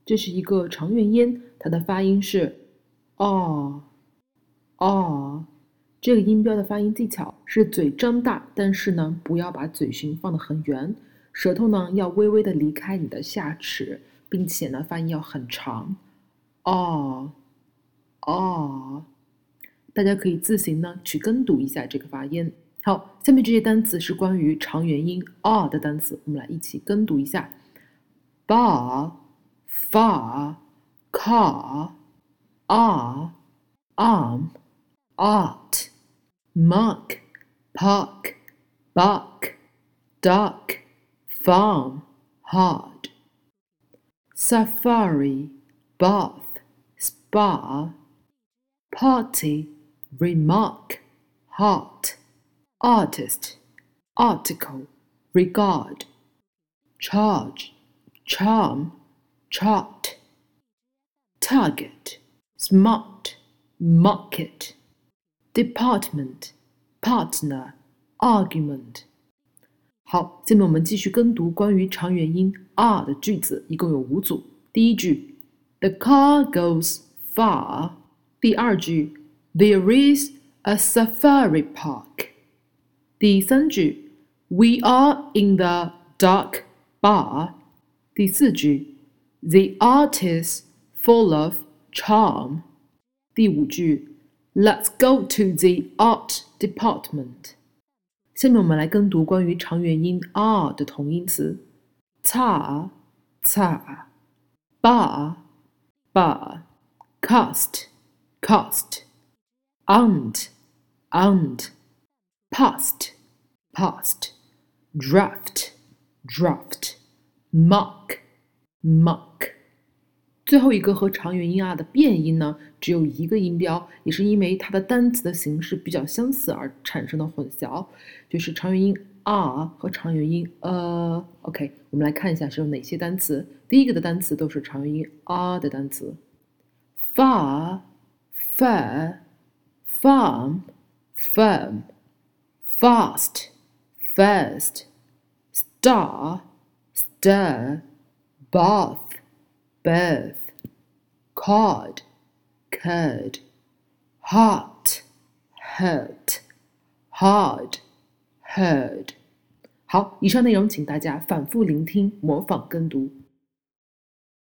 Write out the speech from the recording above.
这是一个长元音，它的发音是 啊。这个音标的发音技巧是嘴张大，但是呢，不要把嘴唇放得很圆，舌头呢要微微的离开你的下齿，并且呢发音要很长。大家可以自行呢去跟读一下这个发音。好，下面这些单词是关于长元音 r 的单词，我们来一起跟读一下。bar, far, car, arm, art, muck, park, buck, duck, farm, hard. Safari, bath, spa, party, remark, heart, artist, article, regard, charge, charm, chart, target, smart, market, department, partner, argument。好，下面我们继续跟读关于长元音 r 的句子，一共有5组。第一句 ，The car goes far。第二句 ，There is a safari park。第三句 ，We are in the dark bar。第四句 ，The art is full of charm。第五句 ，Let's go to the art department。下面我们来跟读关于长元音 r 的同音词 ，car, car, bar, bar, cast, cast, aunt, aunt, past, past, draft, draft, muck, muck。最后一个和长元音 r 的变音呢，只有一个音标，也是因为它的单词的形式比较相似而产生的混淆，就是长元音 r 和长元音OK， 我们来看一下是有哪些单词。第一个的单词都是长元音 r 的单词 ，far, fair, farm, firm, fast, first, star, stir, bath, birth, card, curd, heart, hurt, hard, heard。好，以上内容请大家反复聆听，模仿跟读。